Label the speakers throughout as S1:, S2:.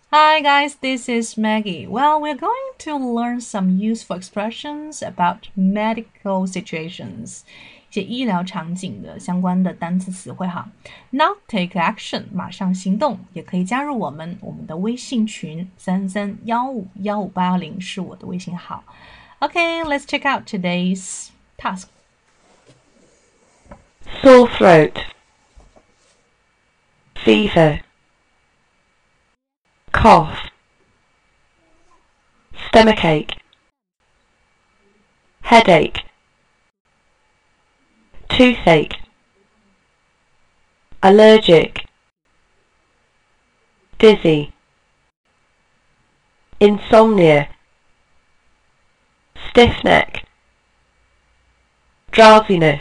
S1: Hi guys, this is Maggie. Well, we're going to learn some useful expressions about medical situations. 一些医疗场景的相关的单词词汇哈。Now take action，马上行动，也可以加入我们的微信群33151580是我的微信号。Okay, let's check out today's task.
S2: Sore throat, fever, cough, stomachache, headache, toothache, allergic, dizzy, insomnia, stiff neck, drowsiness.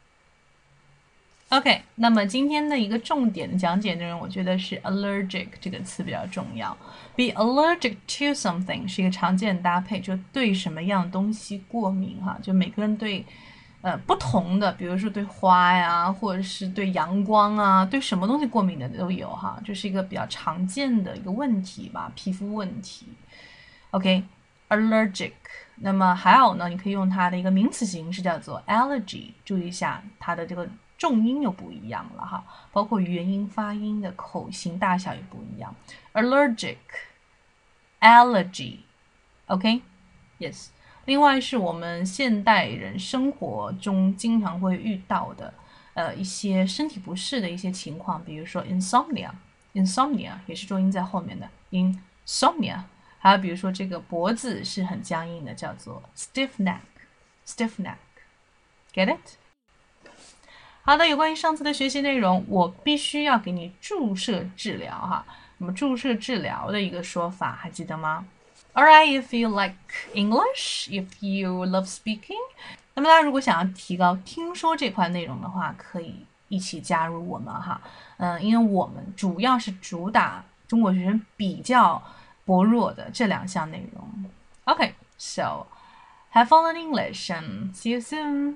S1: OK，那么今天的一个重点的讲解内容，我觉得是 allergic 这个词比较重要。Be allergic to something 是一个常见的搭配，就对什么样东西过敏哈，就每个人对不同的，比如说对花呀，或者是对阳光啊，对什么东西过敏的都有哈，这是一个比较常见的一个问题吧，皮肤问题。OK，allergic。那么还有呢，你可以用它的一个名词形式叫做 allergy，注意一下它的这个重音又不一样了哈，包括元音发音的口型大小也不一样。Allergic, allergy, OK, yes. 另外是我们现代人生活中经常会遇到的一些身体不适的一些情况，比如说 insomnia 也是重音在后面的 insomnia， 还有比如说这个脖子是很僵硬的，叫做 stiff neck, get it?好的，有关于上次的学习内容，我必须要给你注射治疗哈。那么注射治疗的一个说法还记得吗？ Alright, if you like English, if you love speaking， 那么大家如果想要提高听说这块内容的话，可以一起加入我们哈。因为我们主要是主打中国学生比较薄弱的这两项内容。Okay, so have fun in English and see you soon.